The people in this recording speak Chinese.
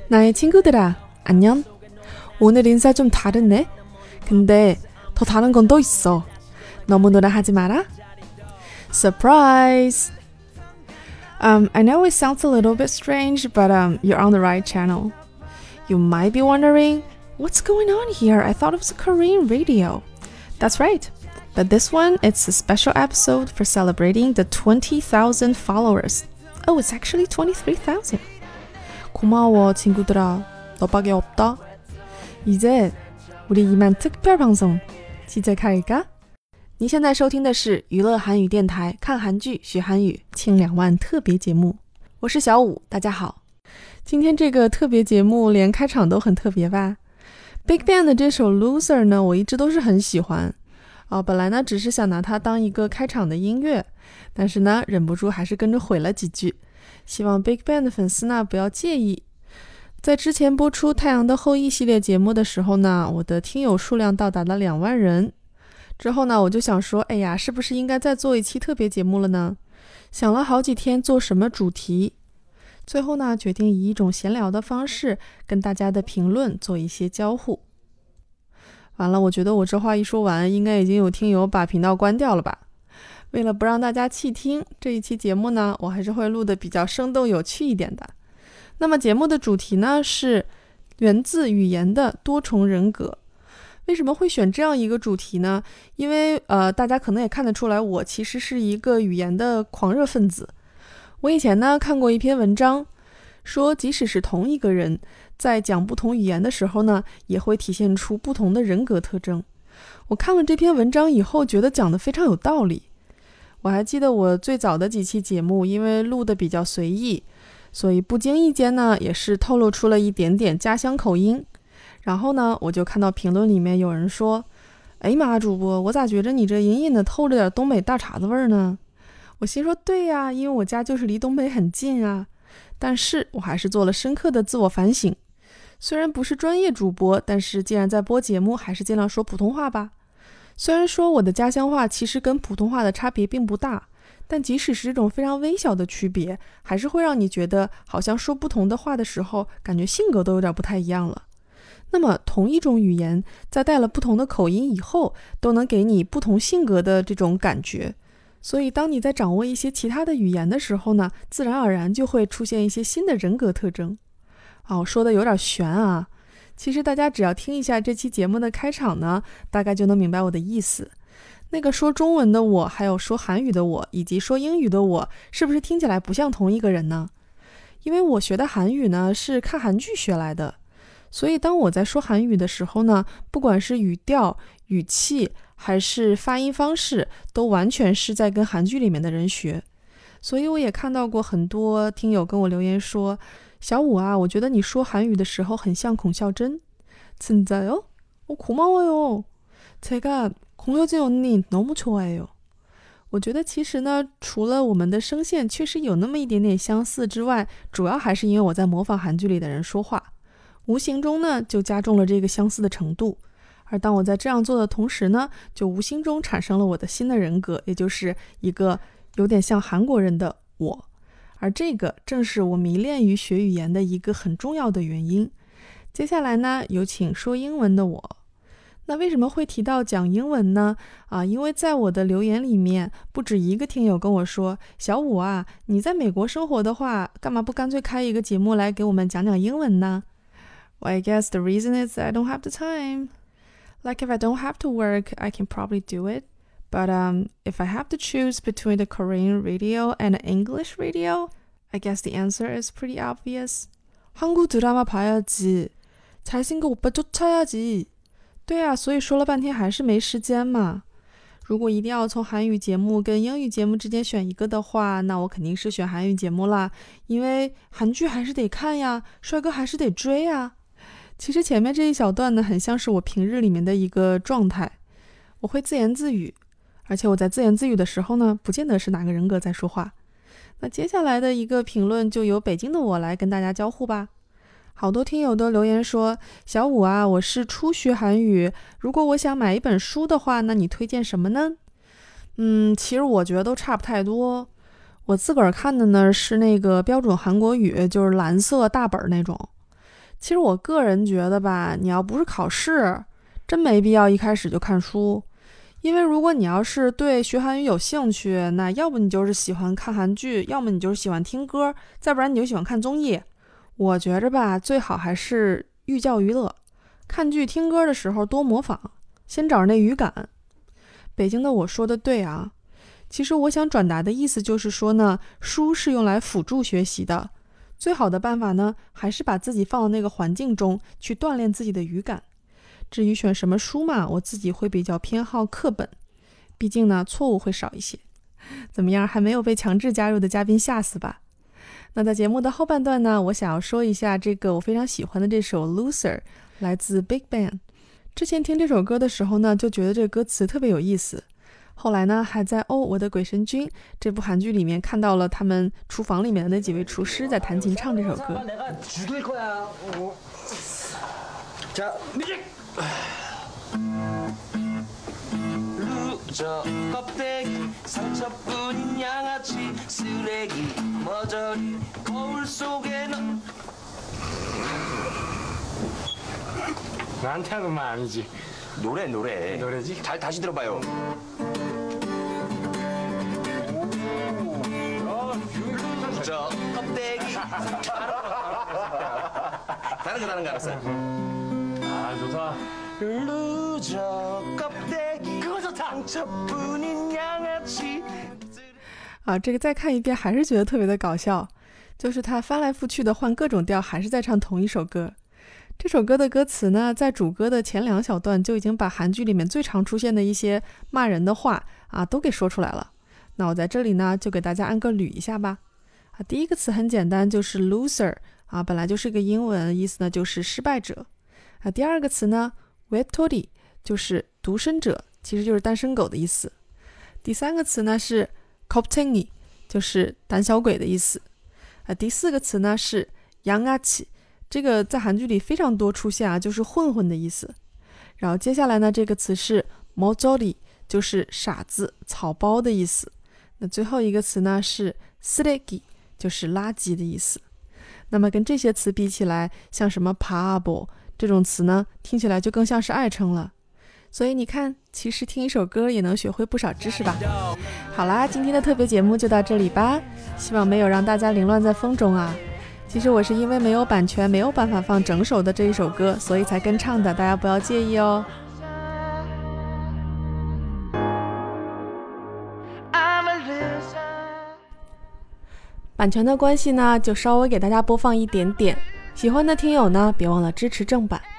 나의 친구들아, 안녕. 오늘 인사 좀 다르네. 근데 더 다른 건 또 있어. 너무 노라 하지 마라. Surprise! I know it sounds a little bit strange, but you're on the right channel. You might be wondering, what's going on here? I thought it was a Korean radio. That's right. But this one, it's a special episode for celebrating the 20,000 followers. Oh, it's actually 23,000. 고마워, 친구들아. 너밖에 없다. 이제 우리 이만 특별 방송 시작할까?你现在收听的是娱乐韩语电台，看韩剧学韩语庆2万特别节目。我是小五，大家好。今天这个特别节目连开场都很特别吧。BigBang 的这首 Loser 呢，我一直都是很喜欢。本来呢只是想拿它当一个开场的音乐，但是呢忍不住还是跟着毁了几句。希望 BigBang 的粉丝呢不要介意。在之前播出《太阳的后裔》系列节目的时候呢，我的听友数量到达了2万人。之后呢，我就想说，哎呀，是不是应该再做一期特别节目了呢？想了好几天做什么主题，最后呢，决定以一种闲聊的方式跟大家的评论做一些交互。完了，我觉得我这话一说完，应该已经有听友把频道关掉了吧？为了不让大家弃听，这一期节目呢，我还是会录得比较生动有趣一点的。那么节目的主题呢，是源自语言的多重人格。为什么会选这样一个主题呢？因为大家可能也看得出来，我其实是一个语言的狂热分子。我以前呢看过一篇文章，说即使是同一个人，在讲不同语言的时候呢，也会体现出不同的人格特征。我看了这篇文章以后，觉得讲得非常有道理。我还记得我最早的几期节目，因为录得比较随意，所以不经意间呢，也是透露出了一点点家乡口音。然后呢，我就看到评论里面有人说，哎妈，主播，我咋觉着你这隐隐的透着点东北大碴子味儿呢？我心说，对呀，因为我家就是离东北很近啊。但是我还是做了深刻的自我反省。虽然不是专业主播，但是既然在播节目，还是尽量说普通话吧。虽然说我的家乡话其实跟普通话的差别并不大，但即使是这种非常微小的区别，还是会让你觉得好像说不同的话的时候，感觉性格都有点不太一样了。那么同一种语言，在带了不同的口音以后，都能给你不同性格的这种感觉。所以当你在掌握一些其他的语言的时候呢，自然而然就会出现一些新的人格特征。我说的有点悬啊，其实大家只要听一下这期节目的开场呢，大概就能明白我的意思。那个说中文的我，还有说韩语的我，以及说英语的我，是不是听起来不像同一个人呢？因为我学的韩语呢，是看韩剧学来的。所以当我在说韩语的时候呢，不管是语调、语气还是发音方式，都完全是在跟韩劇里面的人学。所以我也看到过很多听友跟我留言说，小五啊，我觉得你说韩语的时候很像孔孝真。진짜요? 고마워요. 제가孔孝真언니 너무 좋아해요. 我觉得其实呢，除了我们的声线确实有那么一点点相似之外，主要还是因为我在模仿韩剧里的人说话，无形中呢就加重了这个相似的程度。而当我在这样做的同时呢，就无形中产生了我的新的人格，也就是一个有点像韩国人的我。而这个正是我迷恋于学语言的一个很重要的原因。接下来呢，有请说英文的我。那为什么会提到讲英文呢？因为在我的留言里面，不止一个听友跟我说，小五啊，你在美国生活的话，干嘛不干脆开一个节目来给我们讲讲英文呢？ Well, I guess the reason is I don't have the time. Like if I don't have to work, I can probably do it. But if I have to choose between the Korean radio and the English radio, I guess the answer is pretty obvious. 한국 드라마 봐야지. 잘생긴 오빠 쫓아야지. 对啊，所以说了半天还是没时间嘛。如果一定要从韩语节目跟英语节目之间选一个的话，那我肯定是选韩语节目啦，因为韩剧还是得看呀，帅哥还是得追呀。其实前面这一小段呢，很像是我平日里面的一个状态。我会自言自语，而且我在自言自语的时候呢，不见得是哪个人格在说话。那接下来的一个评论就由北京的我来跟大家交互吧。好多听友都留言说，小五啊，我是初学韩语，如果我想买一本书的话，那你推荐什么呢？其实我觉得都差不太多。我自个儿看的呢是那个标准韩国语，就是蓝色大本那种。 其实我个人觉得吧，你要不是考试，真没必要一开始就看书。因为如果你要是对学韩语有兴趣，那要不你就是喜欢看韩剧，要么你就是喜欢听歌，再不然你就喜欢看综艺。我觉着吧，最好还是寓教于乐，看剧听歌的时候多模仿，先找着那语感。北京的我说的对啊，其实我想转达的意思就是说呢，书是用来辅助学习的，最好的办法呢，还是把自己放到那个环境中去锻炼自己的语感。至于选什么书嘛，我自己会比较偏好课本，毕竟呢错误会少一些。怎么样，还没有被强制加入的嘉宾吓死吧？那在节目的后半段呢，我想要说一下这个我非常喜欢的这首 Loser， 来自 Big Bang。 之前听这首歌的时候呢，就觉得这个歌词特别有意思，后来呢还在我的鬼神君这部韩剧里面看到了他们厨房里面的那几位厨师在弹琴唱这首歌。 루저 껍데기 상처뿐인 양아치 쓰레기 머저리 거울 속에 너 나한테 하는 말 아니지. 노래지? 다시 들어봐요. 루저 껍데기 다른 거 알았어요? 아 좋다. 루저 껍데기 그거 좋다. 상처뿐인 양아치 这个再看一遍还是觉得特别的搞笑，就是他翻来覆去的换各种调，还是在唱同一首歌。这首歌的歌词呢，在主歌的前2小段就已经把韩剧里面最常出现的一些骂人的话都给说出来了。那我在这里呢就给大家按个捋一下吧。第一个词很简单，就是 loser 本来就是个英文，意思呢就是失败者。第二个词呢 외톨이 就是独身者，其实就是单身狗的意思。第三个词呢是 겁쟁이 就是胆小鬼的意思。第四个词呢是 양아치， 这个在韩剧里非常多出现就是混混的意思。然后接下来呢，这个词是 머저리， 就是傻子草包的意思。那最后一个词呢是 쓰레기， 就是垃圾的意思。那么跟这些词比起来，像什么 바보这种词呢，听起来就更像是爱称了。所以你看，其实听一首歌也能学会不少知识吧。好啦，今天的特别节目就到这里吧，希望没有让大家凌乱在风中啊。其实我是因为没有版权，没有办法放整首的这一首歌，所以才跟唱的，大家不要介意哦。版权的关系呢，就稍微给大家播放一点点，喜欢的听友呢，别忘了支持正版。